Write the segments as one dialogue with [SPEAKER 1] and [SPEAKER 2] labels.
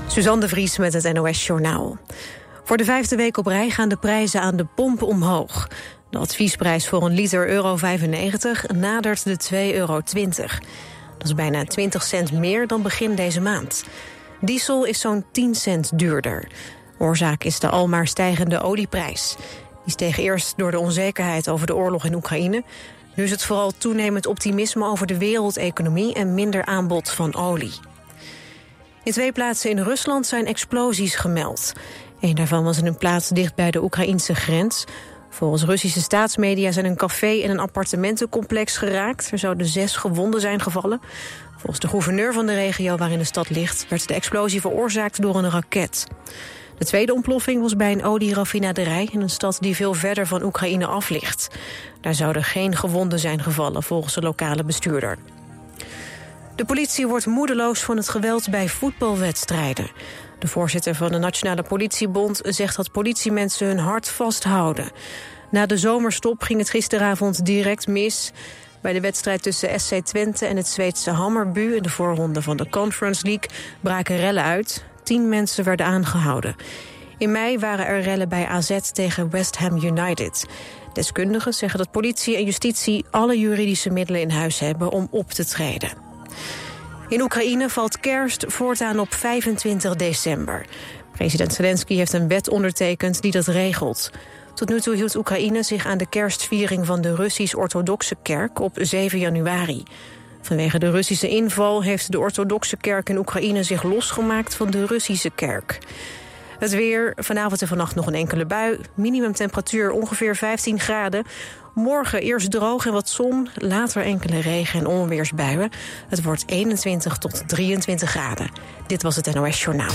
[SPEAKER 1] Suzanne de Vries met het NOS-journaal. Voor de 5e week op rij gaan de prijzen aan de pomp omhoog. De adviesprijs voor een liter €1,95 nadert de €2,20. Dat is bijna 20 cent meer dan begin deze maand. Diesel is zo'n 10 cent duurder. Oorzaak is de almaar stijgende olieprijs. Die steeg eerst door de onzekerheid over de oorlog in Oekraïne. Nu is het vooral toenemend optimisme over de wereldeconomie en minder aanbod van olie. In 2 plaatsen in Rusland zijn explosies gemeld. Eén daarvan was in een plaats dicht bij de Oekraïnse grens. Volgens Russische staatsmedia zijn een café en een appartementencomplex geraakt. Er zouden 6 gewonden zijn gevallen. Volgens de gouverneur van de regio waarin de stad ligt werd de explosie veroorzaakt door een raket. De tweede ontploffing was bij een olieraffinaderij in een stad die veel verder van Oekraïne af ligt. Daar zouden geen gewonden zijn gevallen volgens de lokale bestuurder. De politie wordt moedeloos van het geweld bij voetbalwedstrijden. De voorzitter van de Nationale Politiebond zegt dat politiemensen hun hart vasthouden. Na de zomerstop ging het gisteravond direct mis. Bij de wedstrijd tussen SC Twente en het Zweedse Hammarby in de voorronde van de Conference League braken rellen uit. 10 mensen werden aangehouden. In mei waren er rellen bij AZ tegen West Ham United. Deskundigen zeggen dat politie en justitie alle juridische middelen in huis hebben om op te treden. In Oekraïne valt kerst voortaan op 25 december. President Zelensky heeft een wet ondertekend die dat regelt. Tot nu toe hield Oekraïne zich aan de kerstviering van de Russisch-orthodoxe kerk op 7 januari. Vanwege de Russische inval heeft de orthodoxe kerk in Oekraïne zich losgemaakt van de Russische kerk. Het weer, vanavond en vannacht nog een enkele bui. Minimumtemperatuur ongeveer 15 graden. Morgen eerst droog en wat zon, later enkele regen- en onweersbuien. Het wordt 21 tot 23 graden. Dit was het NOS Journaal.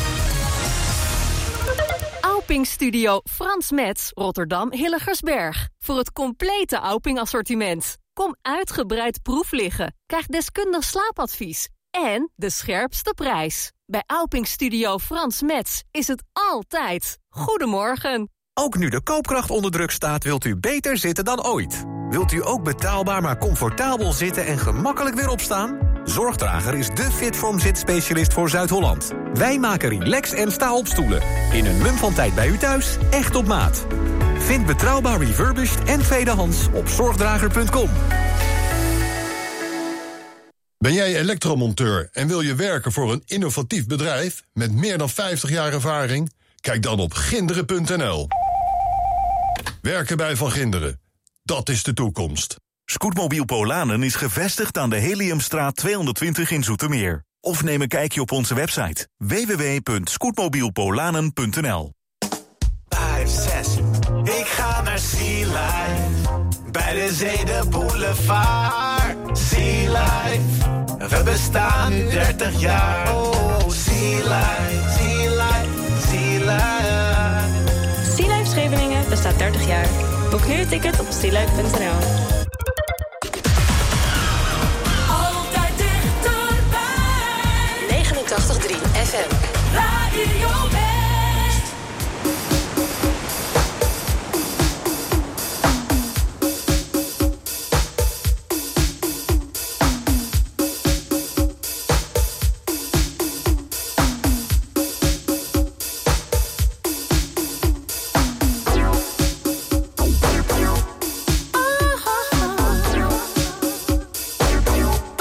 [SPEAKER 2] Auping Studio Frans Metz, Rotterdam Hillegersberg. Voor het complete Auping assortiment. Kom uitgebreid proef liggen. Krijg deskundig slaapadvies. En de scherpste prijs. Bij Auping Studio Frans Metz is het altijd. Goedemorgen.
[SPEAKER 3] Ook nu de koopkracht onder druk staat, wilt u beter zitten dan ooit. Wilt u ook betaalbaar maar comfortabel zitten en gemakkelijk weer opstaan? Zorgdrager is de Fitform zitspecialist voor Zuid-Holland. Wij maken relax- en sta-opstoelen. In een mum van tijd bij u thuis, echt op maat. Vind betrouwbaar refurbished en tweedehands op zorgdrager.com.
[SPEAKER 4] Ben jij elektromonteur en wil je werken voor een innovatief bedrijf met meer dan 50 jaar ervaring? Kijk dan op ginderen.nl. Werken bij Van Ginderen, dat is de toekomst.
[SPEAKER 5] Scootmobiel Polanen is gevestigd aan de Heliumstraat 220 in Zoetermeer. Of neem een kijkje op onze website www.scootmobielpolanen.nl.
[SPEAKER 6] 5, 6, ik ga naar Sea Life. Bij de zee de boulevard. Sea Life, we bestaan nu 30 jaar. Oh, Sea Life, Sea Life, Sea Life.
[SPEAKER 7] Sea Life Scheveningen bestaat 30 jaar. Boek nu een ticket op sealife.nl.
[SPEAKER 8] Altijd dichterbij.
[SPEAKER 2] 89.3 FM.
[SPEAKER 8] Radio West.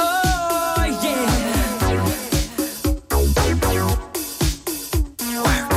[SPEAKER 6] Oh, yeah.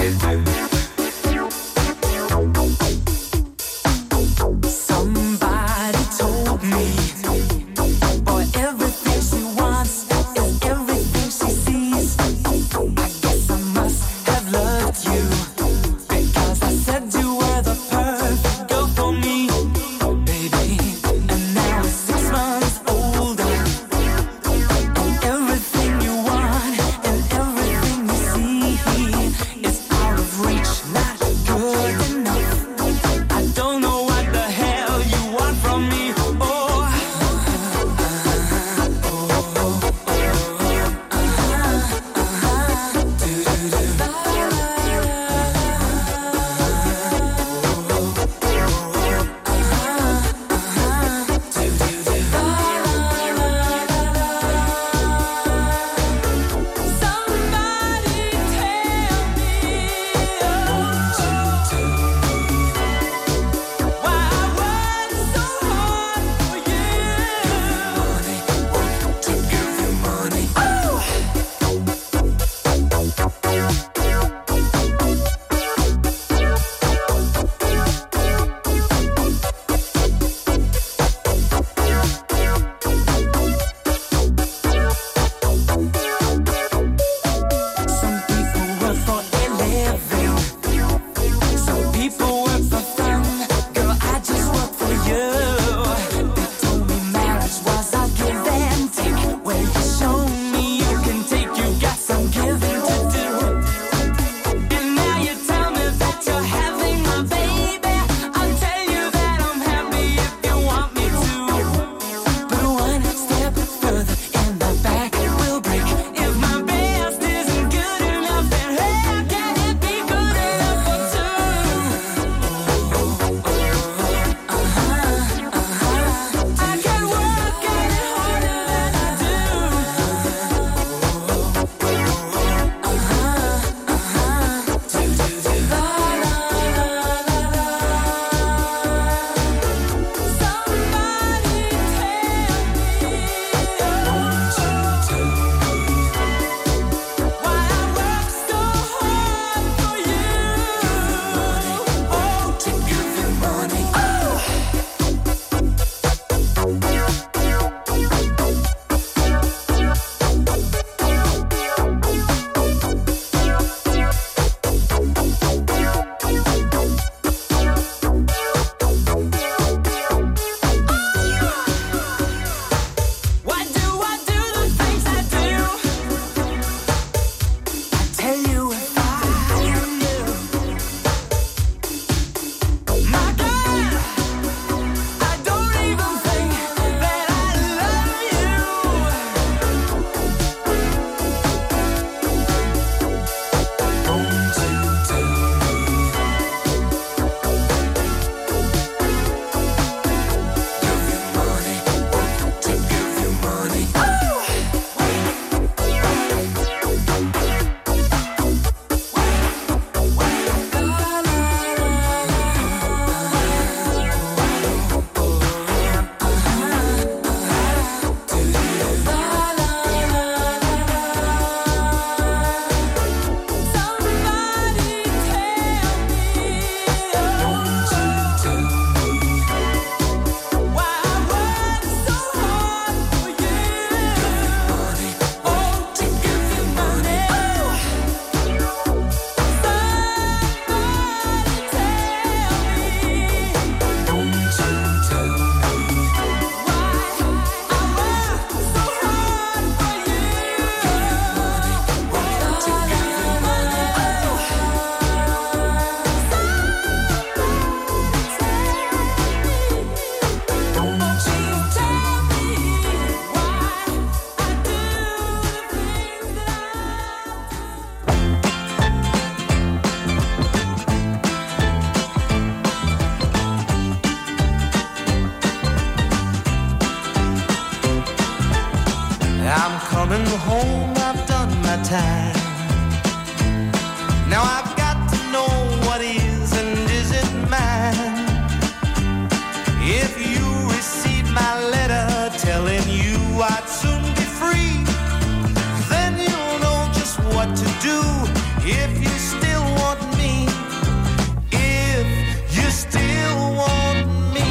[SPEAKER 6] time. Now I've got to know what is and isn't mine. If you receive my letter telling you I'd soon be free, then you'll know just what to do if you still want me. If you still want me.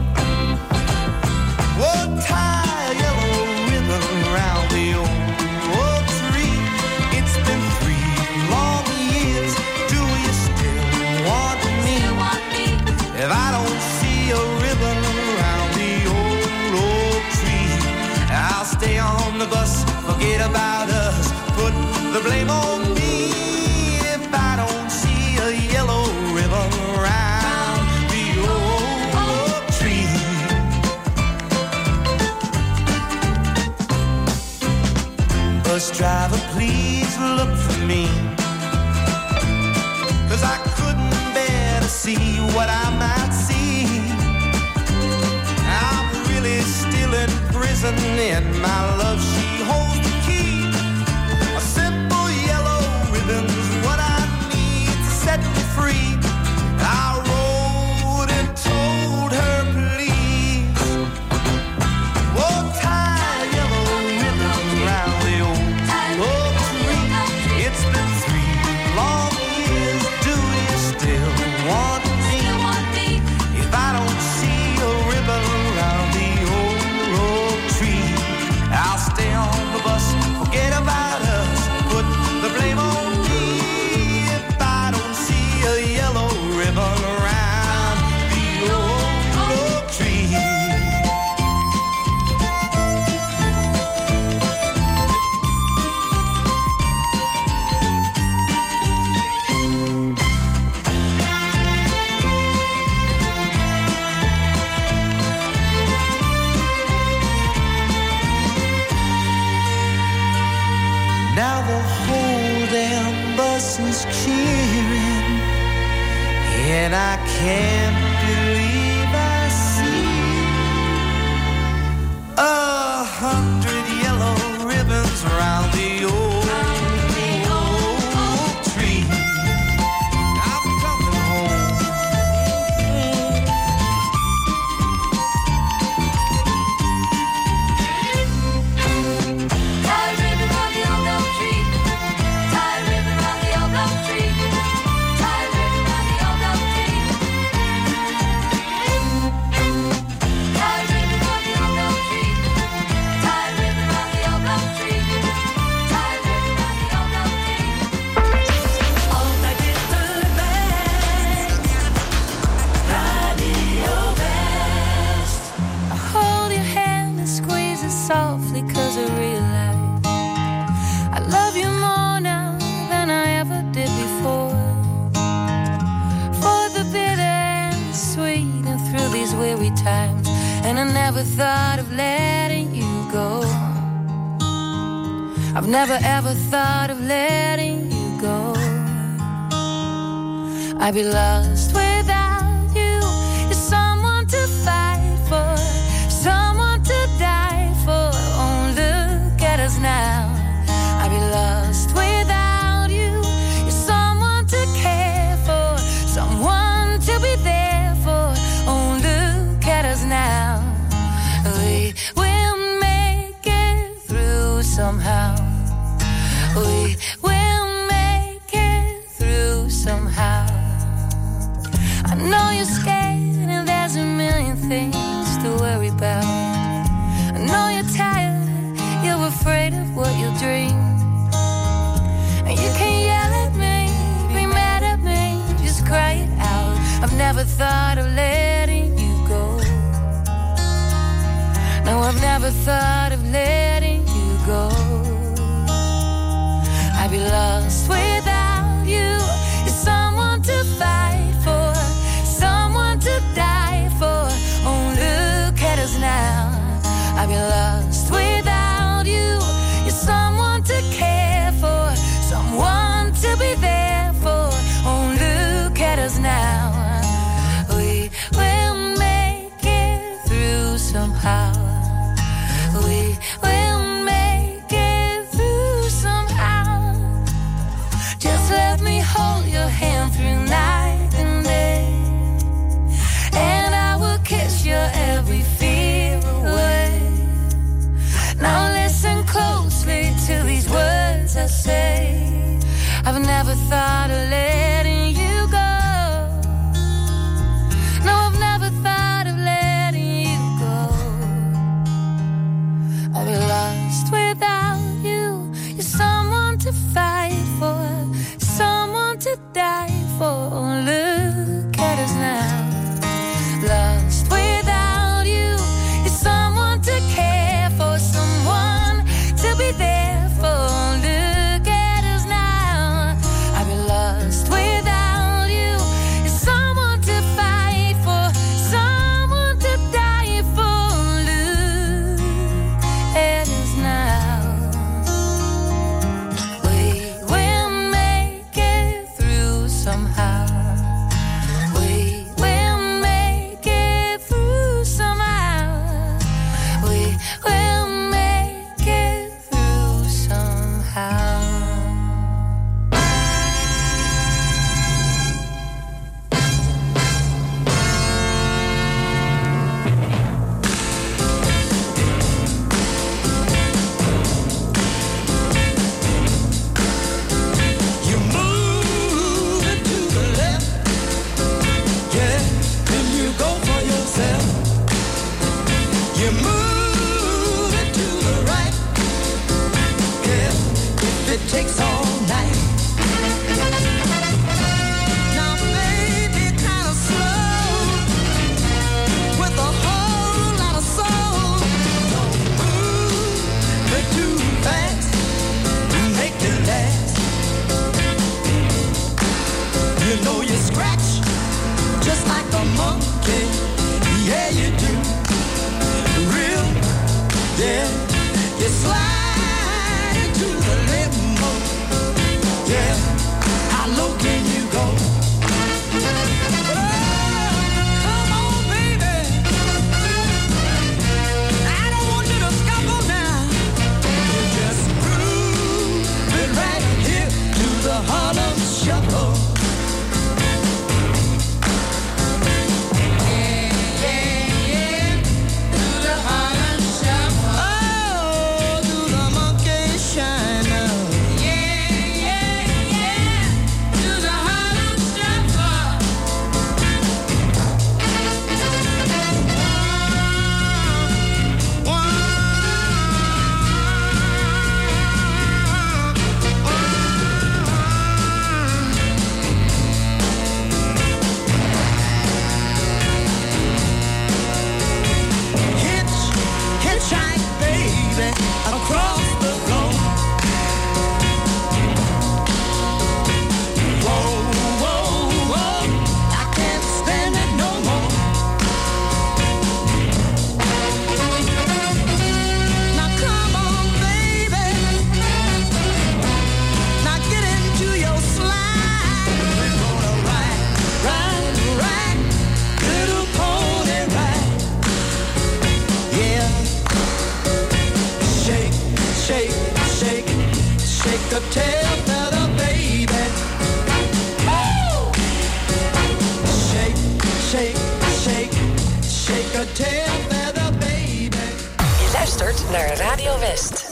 [SPEAKER 6] Whoa, tie a yellow ribbon around the old tree. It's been 3 long years. Do you still want me? If I don't see a ribbon around the old tree, I'll stay on the bus, forget about us, put the blame on me. If I don't see a yellow ribbon around the old tree. Bus driver, please look for me, 'cause I couldn't bear to see what I might see. I'm really still in prison, and my love, she holds the key. A simple yellow ribbon's what I need to set me free. I wrote and told her, please, oh, tie a yellow ribbon around the old tree. It's been 3 long years. Do you still want me? If I don't see a ribbon around the old tree, I'll stay on the bus, forget about us, put the blame on me. If I don't see a yellow ribbon around the old tree. Now the whole damn bus is cheering, and I can't believe I see 100 yellow ribbons around the old tree. I'm coming home.
[SPEAKER 8] Tie a ribbon round the old oak tree. Tie a ribbon round the old oak tree. Tie a ribbon round the old oak tree. Tie a ribbon round the old oak tree. Tie a ribbon round the old oak tree. Tie a ribbon round the old oak tree. Altijd dichterbij. Radio West.
[SPEAKER 9] I hold your hand and squeeze it softly, 'cause I realize I love you more now than I ever did before. For the bitter and the sweet, and through these weary times, and I never thought of letting you go. I've never ever thought of letting you go. I'd be lost without you. You're someone to fight for, someone to die for. Oh, look at us now. I'd be lost without you. You're someone to care for, someone to be there for. Oh, look at us now. We will make it through somehow. We will make it through somehow. I know you're scared and there's a million things to worry about. I know you're tired, you're afraid of what you'll dream. And you can yell at me, be mad at me, just cry it out. I've never thought of letting you go. No, I've never thought of letting you go. I'd be lost without you. You're someone to fight for, someone to die for. Oh, look at us now. I'd be lost without you. You're someone to care for, someone to be there for. Oh, look at us now. We will make it through somehow. We will make it through somehow. thought of letting you go. No, I've never thought of letting you go. I'll be lost without you. You're someone to fight for, someone to die for. Oh, look at us now. Lost without you. You're someone to care for, someone to be there for. Look at us now. I've been lost without you. You're someone to fight for, someone to die for. Look at us now. We will make it through somehow. We will make it through somehow. We will make it through somehow.
[SPEAKER 6] You move it to the left, yeah, then you go for yourself. You move it to the right, yeah, if it takes all night. Now, baby, kind of slow, with a whole lot of soul. Don't move it too fast, make it last. You know you scratch just like a monkey. Yeah, you do. Real, yeah. You slide into the limbo. Yeah. How low can you go? Oh, come on, baby. I don't want you to scuffle now. You just groove it right here to the Harlem Shuffle. Oh, do the monkey shine now. Do the Harlem Shuffle. Hitchhike, baby, across the road. Whoa, whoa, whoa, I can't stand it no more. Now come on, baby. Now get into your slide. We're gonna ride, little pony ride. Yeah. Shake, shake, shake, shake the tail feather, baby. Woo! Shake, shake, shake, shake the tail feather, baby.
[SPEAKER 10] Je luistert naar Radio West.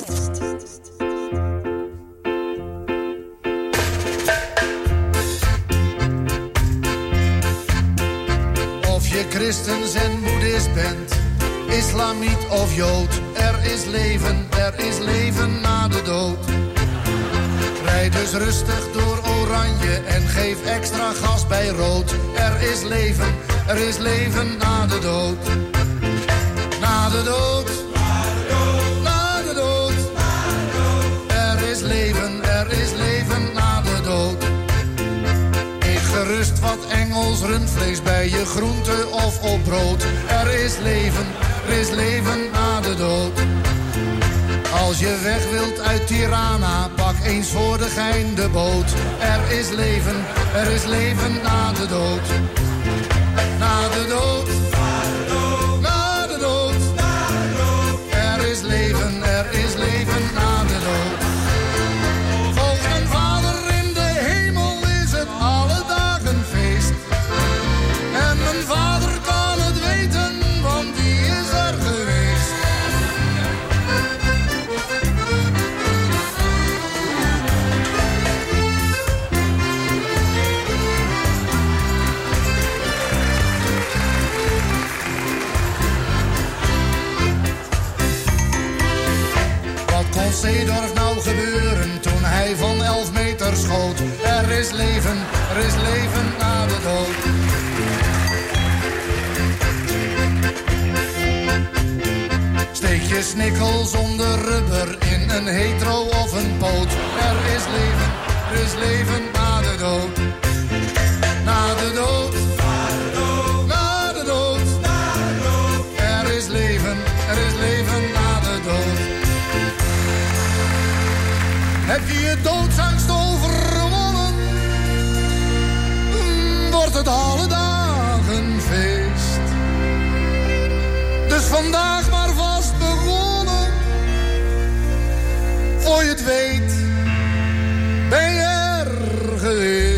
[SPEAKER 11] Of je christens en boeddhist bent, islamiet of jood. Er is leven na de dood. Rijd dus rustig door oranje en geef extra gas bij rood. Er is leven na de dood. Na de dood. Na de dood. Er is leven na de dood. Eet gerust wat Engels rundvlees bij je groente of op brood. Er is leven na de dood. Als je weg wilt uit Tirana, pak eens voor de gein de boot. Er is leven na de dood. Na de dood. Na de dood. Er is leven na de dood. Volgens mijn vader in de hemel is het alle dagen feest. En mijn vader kan het weten, want die is er geweest. Er is leven na de dood. Steek je snikkel zonder rubber in een hetero of een poot. Er is leven na de dood. Na de dood. Na de dood. Er is leven na de dood. Heb je je doodsangst overwonnen? Wordt het alle dagen feest. Dus vandaag maar vast begonnen. Voor je het weet, ben je er geweest.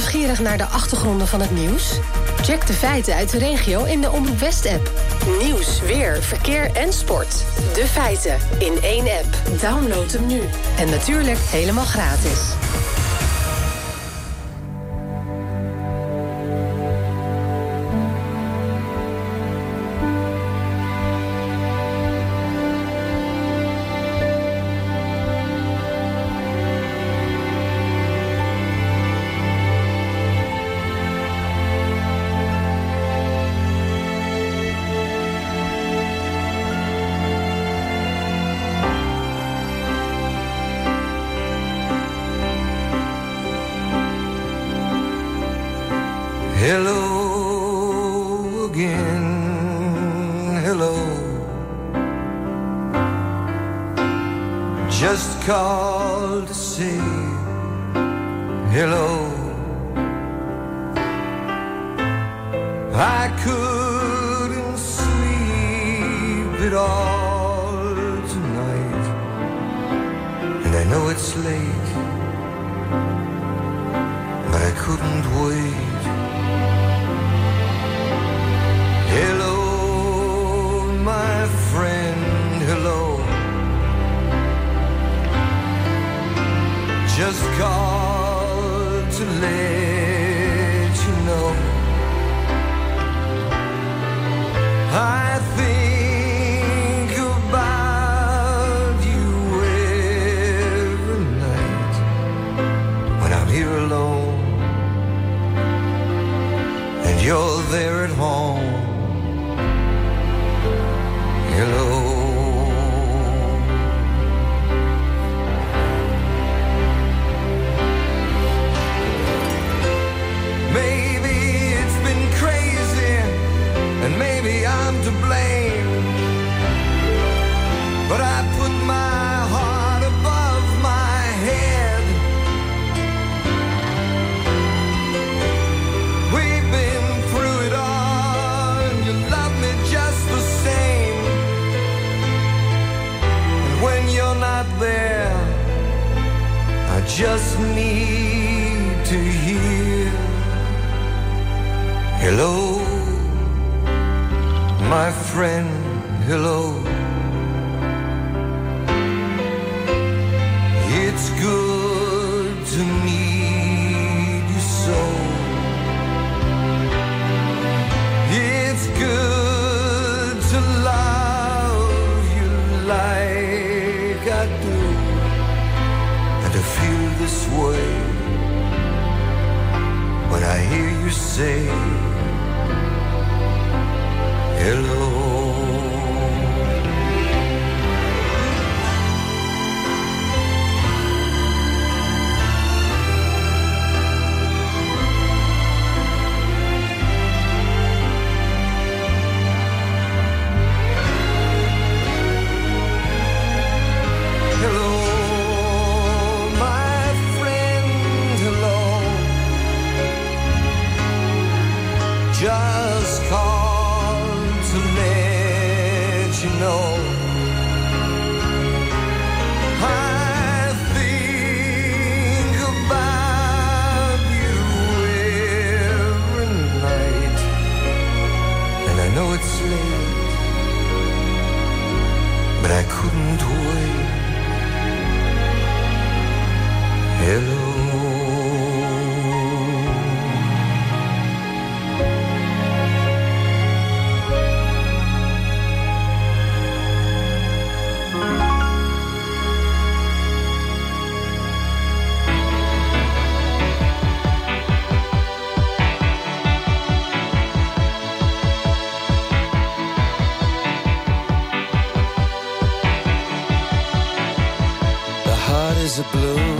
[SPEAKER 12] nieuwsgierig naar de achtergronden van het nieuws? Check de feiten uit de regio in de Omroep West-app. Nieuws, weer, verkeer en sport. De feiten in één app. Download hem nu. En natuurlijk helemaal gratis.
[SPEAKER 13] Hello again, hello. Just called to say hello. I couldn't sleep at all tonight, and I know it's late, but I couldn't wait. Hello, my friend, hello. Just called to let you know I think about you every night when I'm here alone and you're there at home. Hello. Maybe it's been crazy, and maybe I'm to blame, but I put my heart above my head. We've been through it all, and you love me just the same. When you're not there, I just need to hear hello, my friend, hello. It's good to need you so. It's good to love you like I do, and to feel this way when I hear you say hello. Just called to let you know I think about you every night, and I know it's late, but I couldn't wait. Hello. Is a bloom,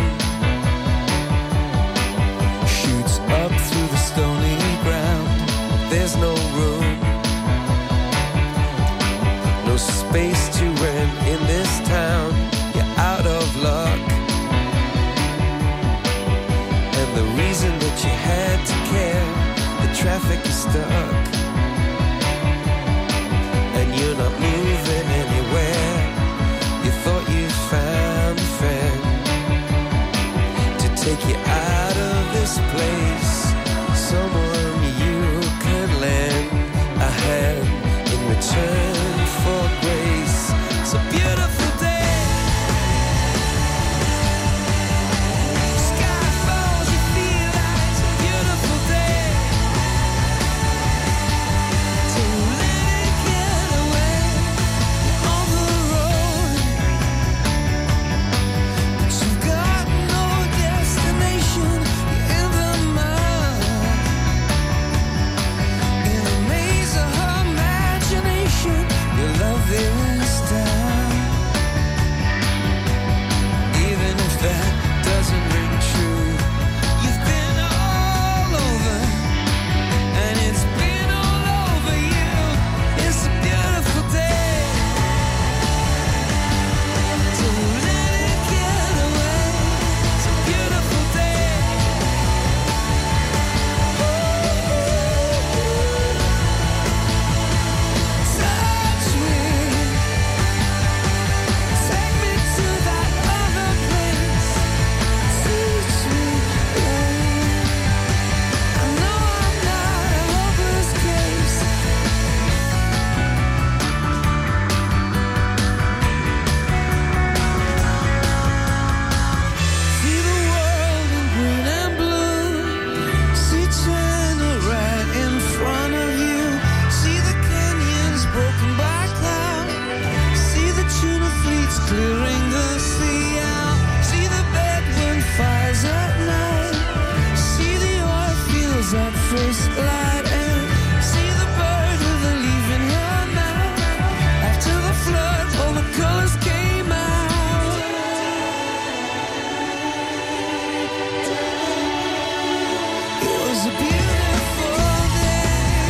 [SPEAKER 13] shoots up through the stony ground. There's no room, no space to rent in this town. You're out of luck, and the reason that you had to care, the traffic is stuck, and you're not moving anywhere. You thought you found a friend, take you out of this place. someone you could lend a hand in return for grace. It's a beautiful day. Sky falls, you feel like it's a beautiful day. To let it get away on the road. But you've got no destination. You're in the mud. In a maze of her imagination, your love is down. Even if that doesn't ring true, you've been all over, and it's been all over you. It's a beautiful day. To let it get away. It's a beautiful day. Touch me. Take me to that other place. Teach me, I know I'm not a hopeless case. See the world in green and blue. See China right in front of you. See the canyons broken by cloud. See the tuna fleets clearing the sea out. See the bedroom fires at night. See the oil fields at first light. And see the bird with a leaf in her mouth. After the flood, all the colors came out. It was a beautiful day.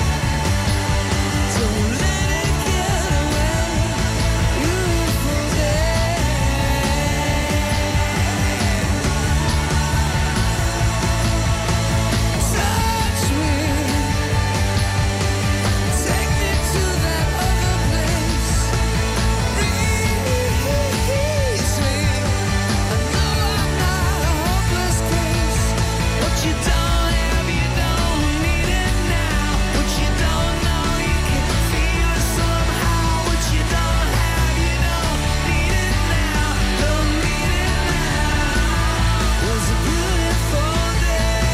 [SPEAKER 13] So let it get away. Beautiful day. Touch me. Take me to that other place. Release me. I know I'm not a hopeless case. What you don't have, you don't need it now. What you don't know, you can feel it somehow. What you don't have, you don't need it now. Don't need it now. It was a beautiful day.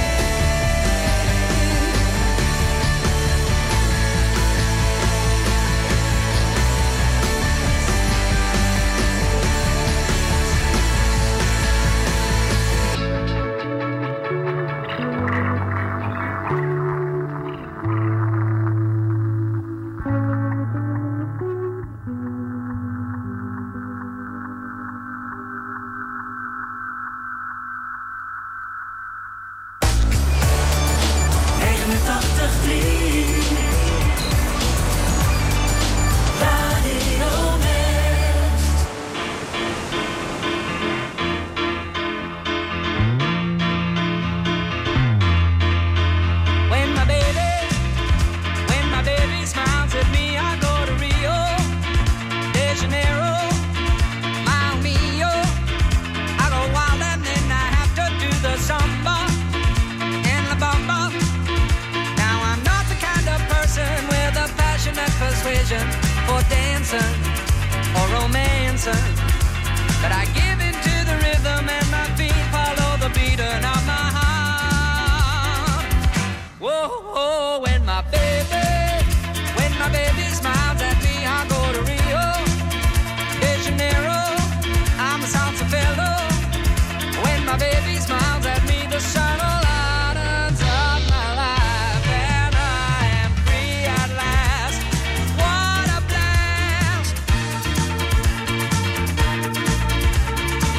[SPEAKER 13] When my baby smiles at me, I go to Rio de Janeiro, Mile Mio. I go wild and then I have to do the samba and la bamba. Now I'm not the kind of person with a passionate persuasion for dancing or romancing, but I give in to the rhythm and my feet follow the beating of my heart. Whoa, when my baby smiles at me, I go to Rio de Janeiro. I'm a salsa fellow. When my baby smiles at me, the sun lightens up my life, and I am free at last. What a blast!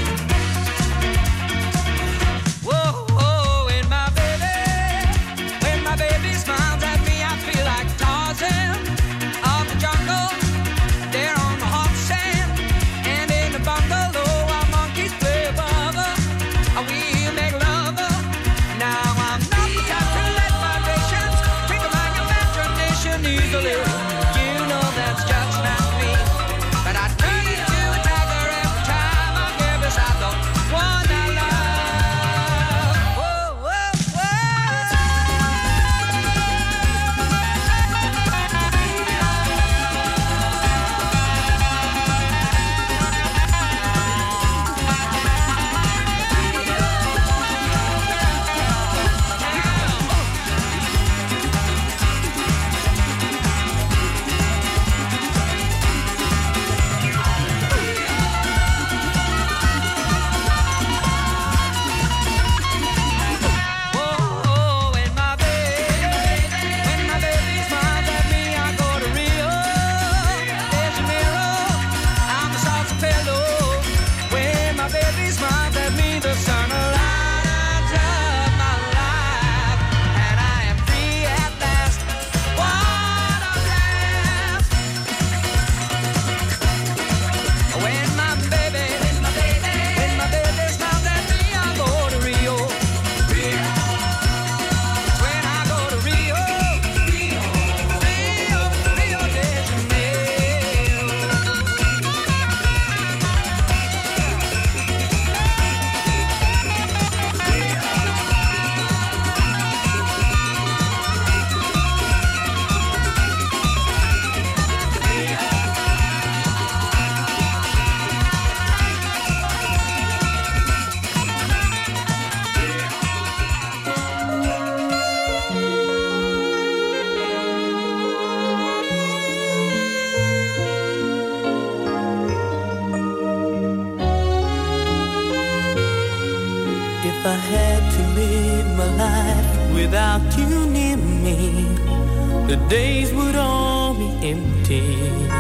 [SPEAKER 14] had to live my life without you near me, the days would all be empty.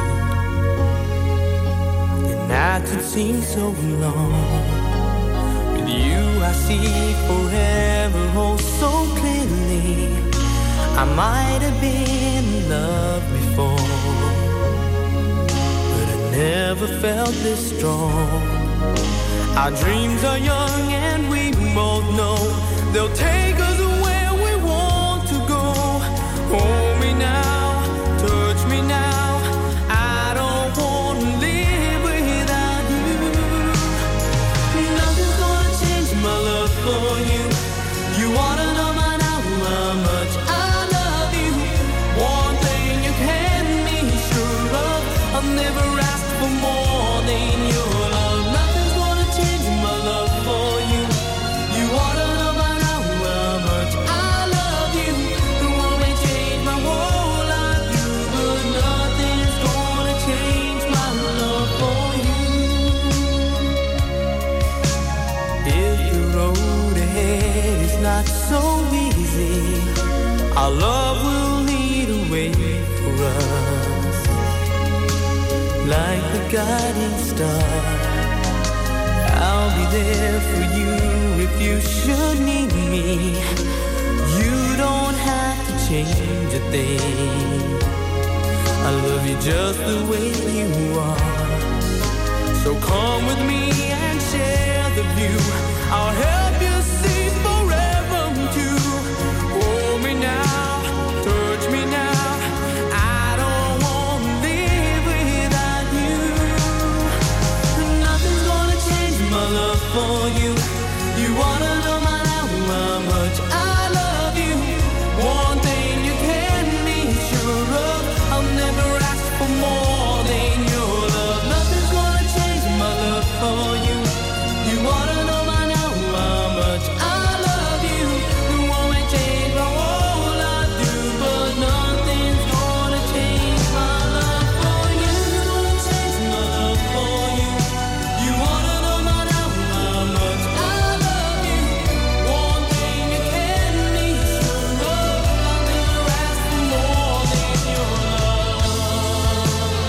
[SPEAKER 14] The nights would seem so long. With you I see forever oh so clearly. I might have been in love before, but I never felt this strong. Our dreams are young and we both know they'll take us where we want to go. Hold me now, touch me now. I don't want to live without you. Nothing's gonna change my love for you. You wanna know by now how much I love you. One thing you can be sure of, I'll never ask for more than your love. Nothing's gonna change my love for you. You wanna know by now how much I love you. It won't change my whole life, you, but nothing's gonna change my love for you. If the road ahead is not so easy, our love will lead a way for us, like the guiding star. I'll be there for you if you should need me. You don't have to change a thing. I love you just the way you are. So come with me and share the view. I'll help you see forever too. Hold me now, touch me now. I don't want to live without you. Nothing's gonna change my love for you. You wanna know my now how much I love you. One thing you can be sure of, I'll never ask for more than your love. Nothing's gonna change my love for you. You wanna know by now how much I love you. It won't change my whole life through, but nothing's gonna change my love for you. Change my love for you. You wanna know by now how much I love you. One thing you can be sure of, I'll never ask for more than your love.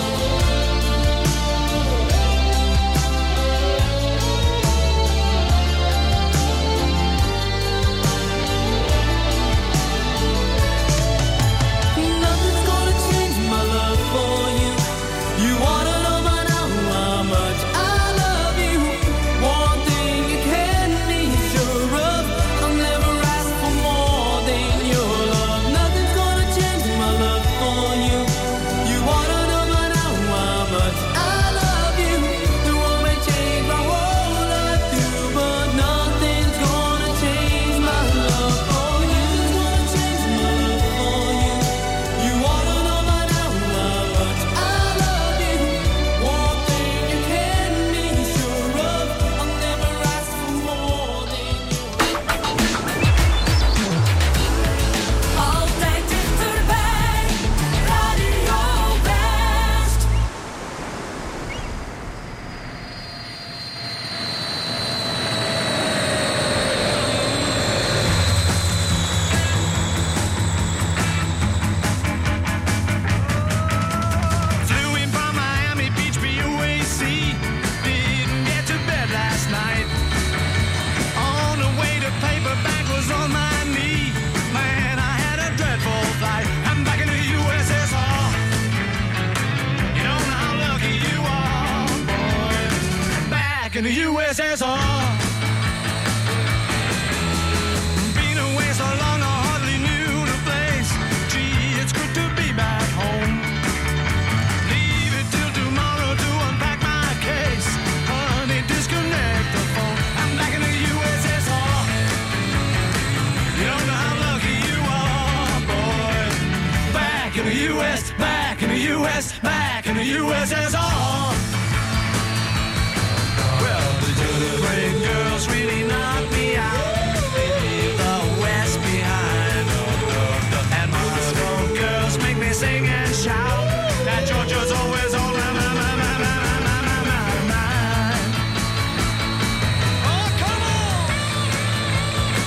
[SPEAKER 14] Nothing's gonna change my love for you. You wanna know by now how much I love you. One thing you can be sure of, I'll never ask for more than your love. Nothing's gonna change my love for you. You wanna know by now how much I love you. It won't change my whole life through, but nothing's gonna change my love for you. Change my love for you. You wanna know by now how much I love you. One thing you can be sure of, I'll never ask for more than
[SPEAKER 8] Altijd dichterbij, Radio West.
[SPEAKER 6] Flew in from Miami Beach, BUAC. Didn't get to bed last night. On the way to paperback was on my knee. Man, I had a dreadful flight. I'm back in the USSR. You don't know how lucky you are, boy. Back in the USSR. Been away so long, I hardly knew the place. Gee, it's good to be back home. Leave it till tomorrow to unpack my case. Honey, disconnect the phone. I'm back in the USSR. You don't know how lucky you are, boy. Back in the US, back in the US, back in the USSR. Well, the great girls really knocked me out. They leave the West behind. And Moscow girls make me sing and shout. That Georgia's always on my mind. Oh, come on!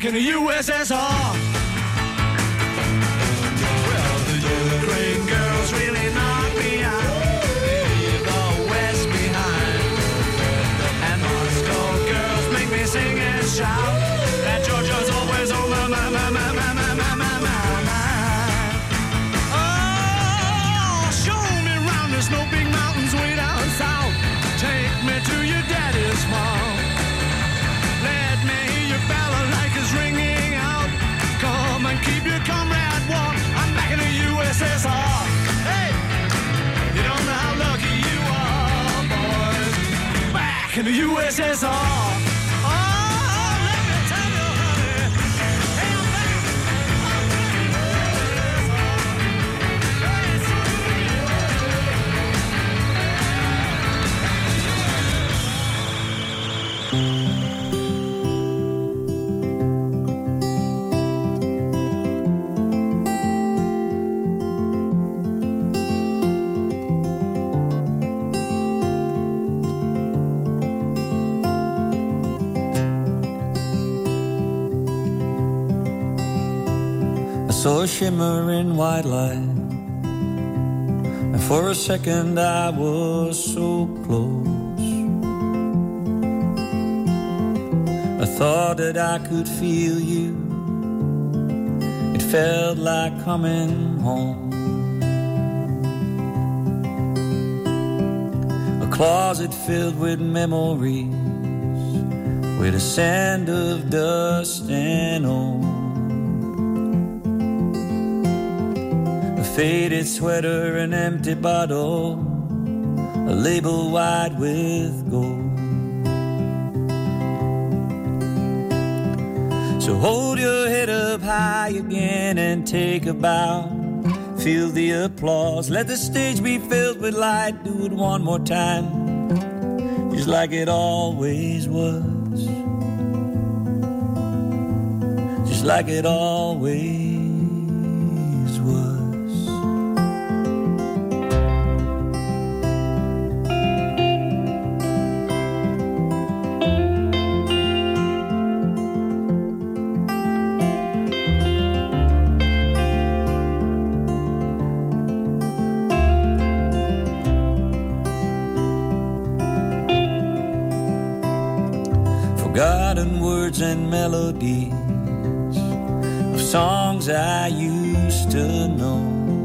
[SPEAKER 14] in the USSR. Well, the Ukraine girls really knock me out. They leave the West behind. And Moscow girls make me sing and shout. And Georgia's always on my mind. Oh, show me round, there's no big mountains way down south. Take me to your daddy's farm. Let me hear your balalaikas ringing out. Come and keep your comrade warm. I'm back in the USSR. Hey, you don't know how lucky you are, boys. Back in the USSR.
[SPEAKER 15] Saw a shimmering white light, and for a second I was so close. I thought that I could feel you. It felt like coming home. A closet filled with memories, with a sand of dust and old. Faded sweater, an empty bottle, a label wide with gold. So hold your head up high again and take a bow. Feel the applause, let the stage be filled with light. Do it one more time, just like it always was. Just like it always was. Forgotten words and melodies of songs I used to know,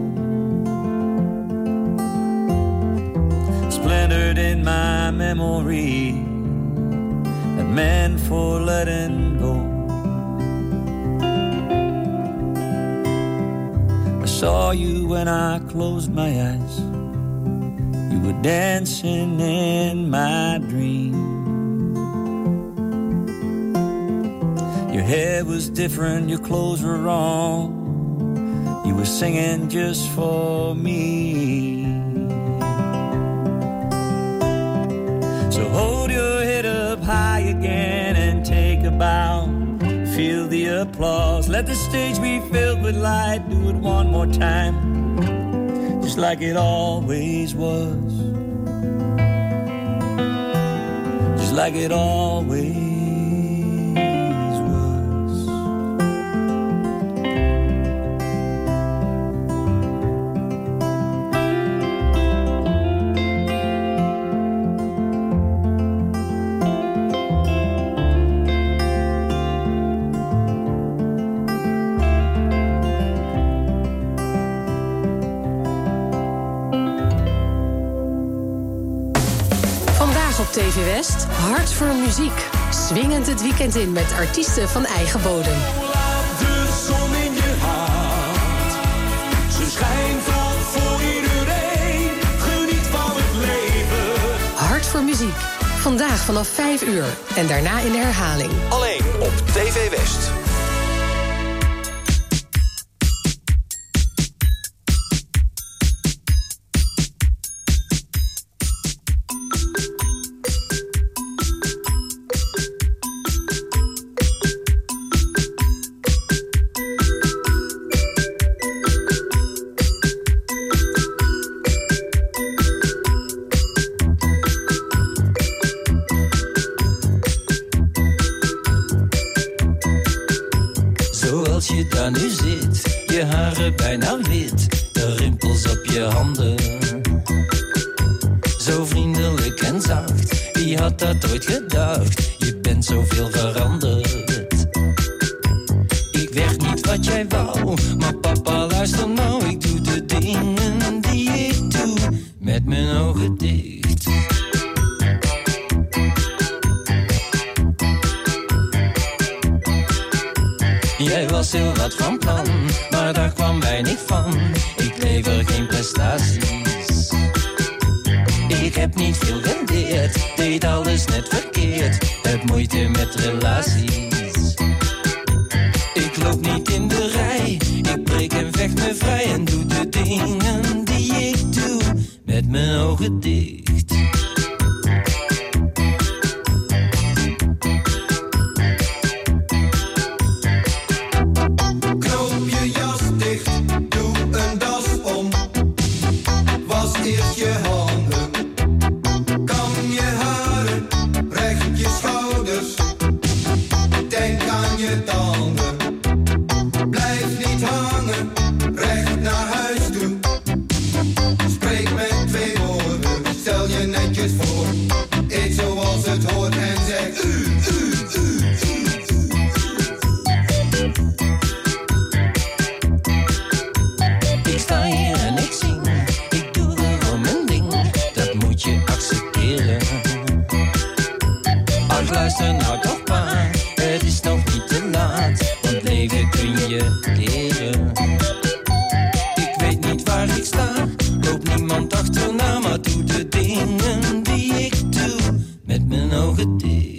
[SPEAKER 15] splintered in my memory, that meant for letting go. I saw you when I closed my eyes. You were dancing in my dream. Your hair was different, your clothes were wrong. You were singing just for me. So hold your head up high again and take a bow. Feel the applause, let the stage be filled with light. Do it one more time, just like it always was. Just like it always was.
[SPEAKER 12] TV West, Hart voor muziek. Swingend het weekend in met artiesten van eigen bodem.
[SPEAKER 14] Laat de zon in je hart. Ze schijnt al voor iedereen. Geniet van het leven.
[SPEAKER 12] Hart voor muziek. Vandaag vanaf 5 uur. En daarna in de herhaling.
[SPEAKER 16] Alleen op TV West.
[SPEAKER 17] aan u zit. Je haren bijna wit, de rimpels op je handen. Zo vriendelijk en zacht, wie had dat ooit gedacht? Je bent zoveel veranderd. Ik werd niet wat jij wou, maar papa luister nou. Ik doe de dingen die ik doe, met mijn ogen dicht. Jij was heel wat van plan, maar daar kwam weinig van. Ik lever geen prestaties. Ik heb niet veel geleerd, deed alles net verkeerd. Heb moeite met relaties. Ik loop niet in de rij, ik breek en vecht me vrij. En doe de dingen die ik doe, met mijn ogen dicht. Luister nou toch maar, het is nog niet te laat, want leven kun je leren. Ik weet niet waar ik sta, loop niemand achterna, maar doe de dingen die ik doe, met mijn ogen dicht.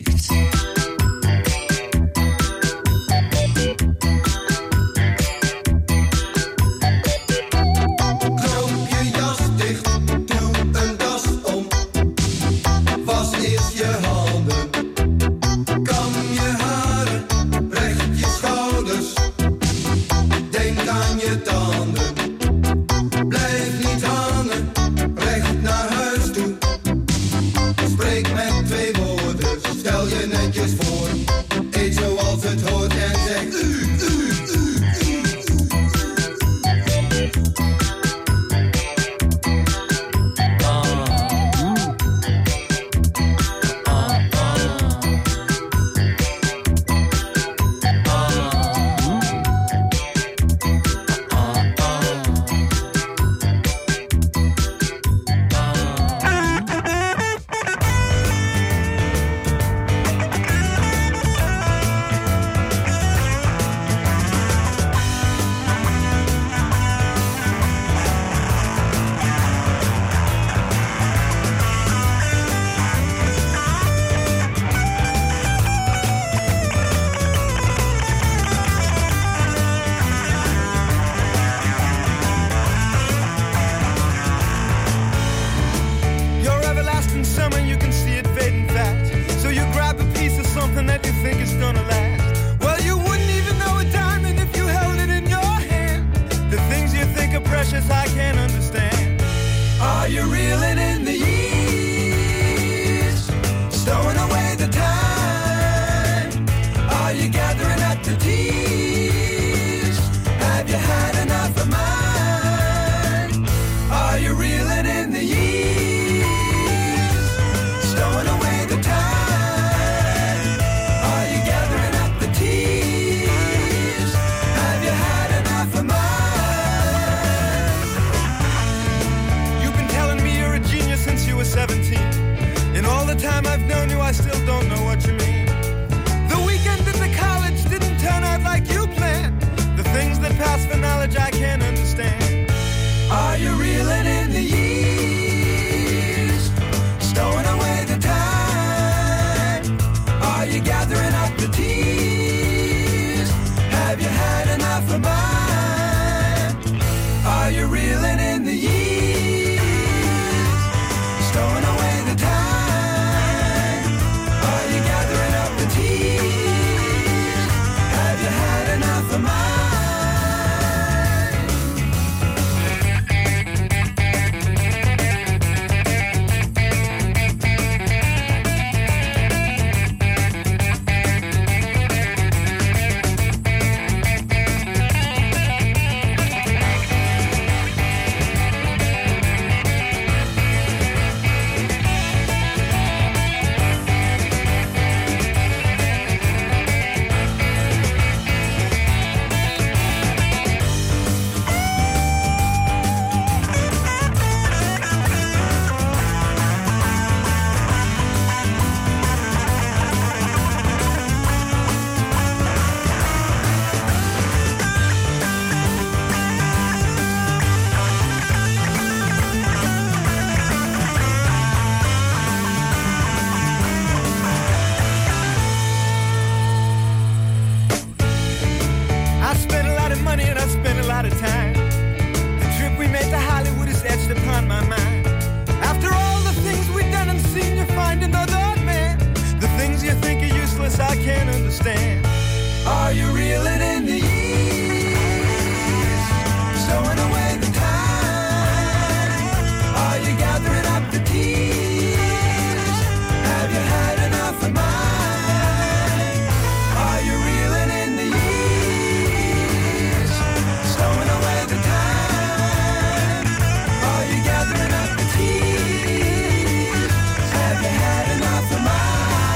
[SPEAKER 18] out of time. The trip we made to Hollywood is etched upon my mind. After all the things we've done and seen, you find another man. The things you think are useless, I can't understand. Are you reeling in the years, stowing away the time? Are you gathering up the tears? Have you had enough of mine? Are you reeling in the years, stowing away the time? Are you gathering up the tears? Have you had enough of mine?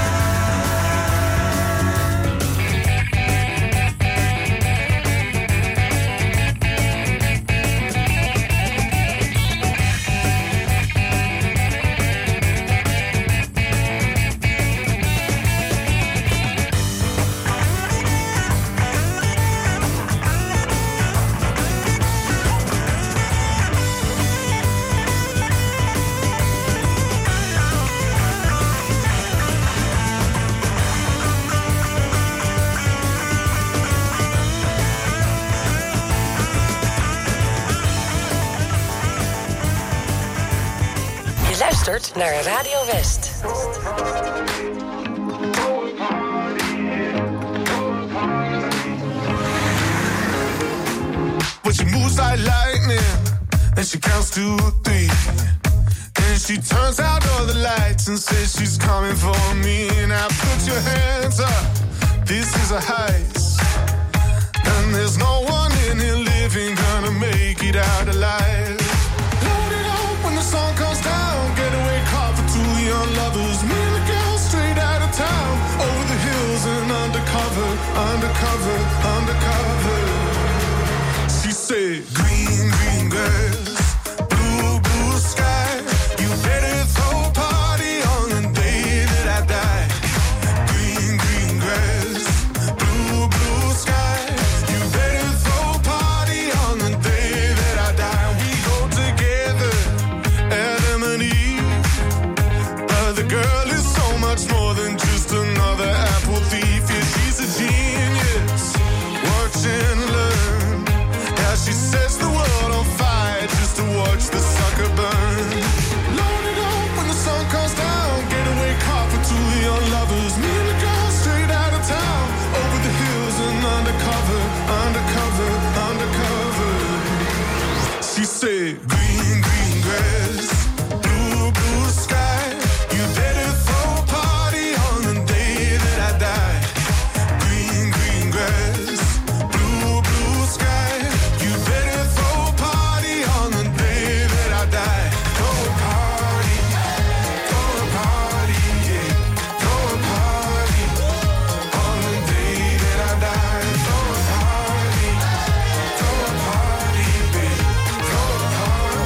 [SPEAKER 10] Luistert naar Radio West.
[SPEAKER 19] But she moves like lightning, and she counts to 3. And she turns out all the lights and says she's coming for me. Now put your hands up, this is a heist. And there's no one in here living gonna make it out alive. Load it up when the sun comes down, getaway car for 2 young lovers. Me and the girl straight out of town, over the hills and undercover, undercover, undercover. She said, green, green grass, blue, blue sky. You better throw a party on the day that I die. Green, green grass, blue, blue sky. You better throw a party on the day that I die. We go together, Adam and Eve. But the girl is so much more than just another apple thief. Yeah, she's a genius. Watch and learn. Yeah, she sets the world on fire just to watch the sucker burn. Load it up when the sun comes down. Getaway car for 2 young lovers. Me and the girl straight out of town, over the hills and undercover, undercover, undercover. She said, green, green grass, blue, blue sky. You better throw a party on the day that I die. Green, green grass, blue, blue sky. You better throw a party on the day that I die. Throw a party, yeah. Throw a party on the day that I die. Throw a party, babe. Throw a party.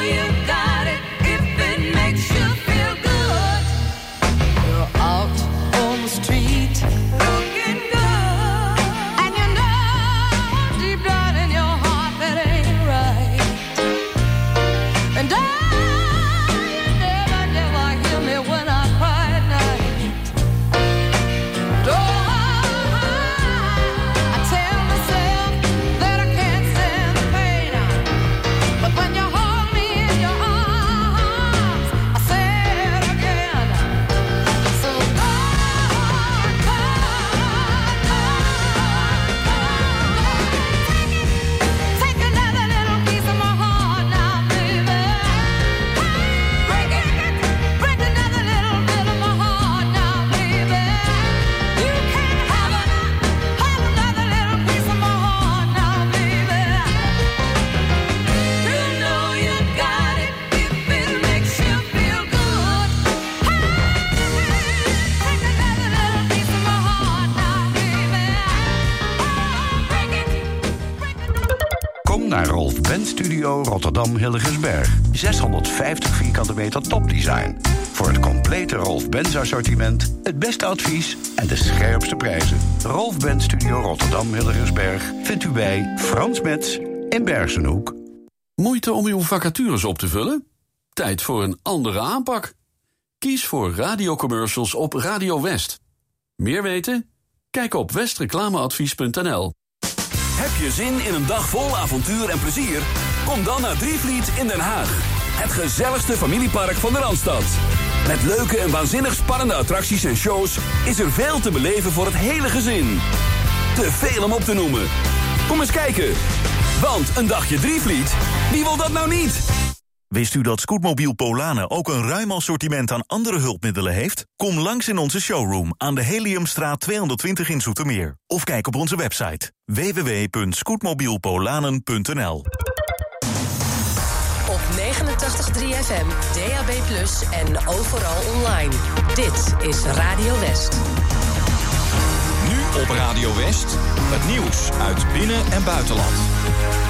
[SPEAKER 8] you got it if it makes you feel good.
[SPEAKER 9] You're out on the street,
[SPEAKER 8] looking good,
[SPEAKER 9] and you know deep down in your heart that ain't right. And you never hear me when I cry at night. I tell myself that I can't stand the pain, but when you hold me in your arms, I say it again. So take another little piece of my heart now, baby. Break another little bit of my heart now, baby. You can't have another little piece of my heart now, baby.
[SPEAKER 8] you know you got it if it makes you feel good.
[SPEAKER 9] Take another little piece of my heart now, baby.
[SPEAKER 20] Kom naar Rolf Benz Studio Rotterdam Hillegersberg. 650 vierkante meter topdesign. Voor het complete Rolf Benz assortiment, het beste advies en de scherpste prijzen. Rolf Benz Studio Rotterdam Hillegersberg vindt u bij Frans Metz in Bergenhoek.
[SPEAKER 21] Moeite om uw vacatures op te vullen? Tijd voor een andere aanpak. Kies voor radiocommercials op Radio West. Meer weten? Kijk op westreclameadvies.nl.
[SPEAKER 22] Heb je zin in een dag vol avontuur en plezier? Kom dan naar Drievliet in Den Haag. Het gezelligste familiepark van de Randstad. Met leuke en waanzinnig spannende attracties en shows is er veel te beleven voor het hele gezin. Te veel om op te noemen. Kom eens kijken. Want een dagje Drievliet, wie wil dat nou niet?
[SPEAKER 5] Wist u dat Scootmobiel Polanen ook een ruim assortiment aan andere hulpmiddelen heeft? Kom langs in onze showroom aan de Heliumstraat 220 in Zoetermeer. Of kijk op onze website www.scootmobielpolanen.nl.
[SPEAKER 12] Op 89.3 FM, DAB+ en overal online. Dit is Radio West.
[SPEAKER 16] Nu op Radio West, het nieuws uit binnen- en buitenland.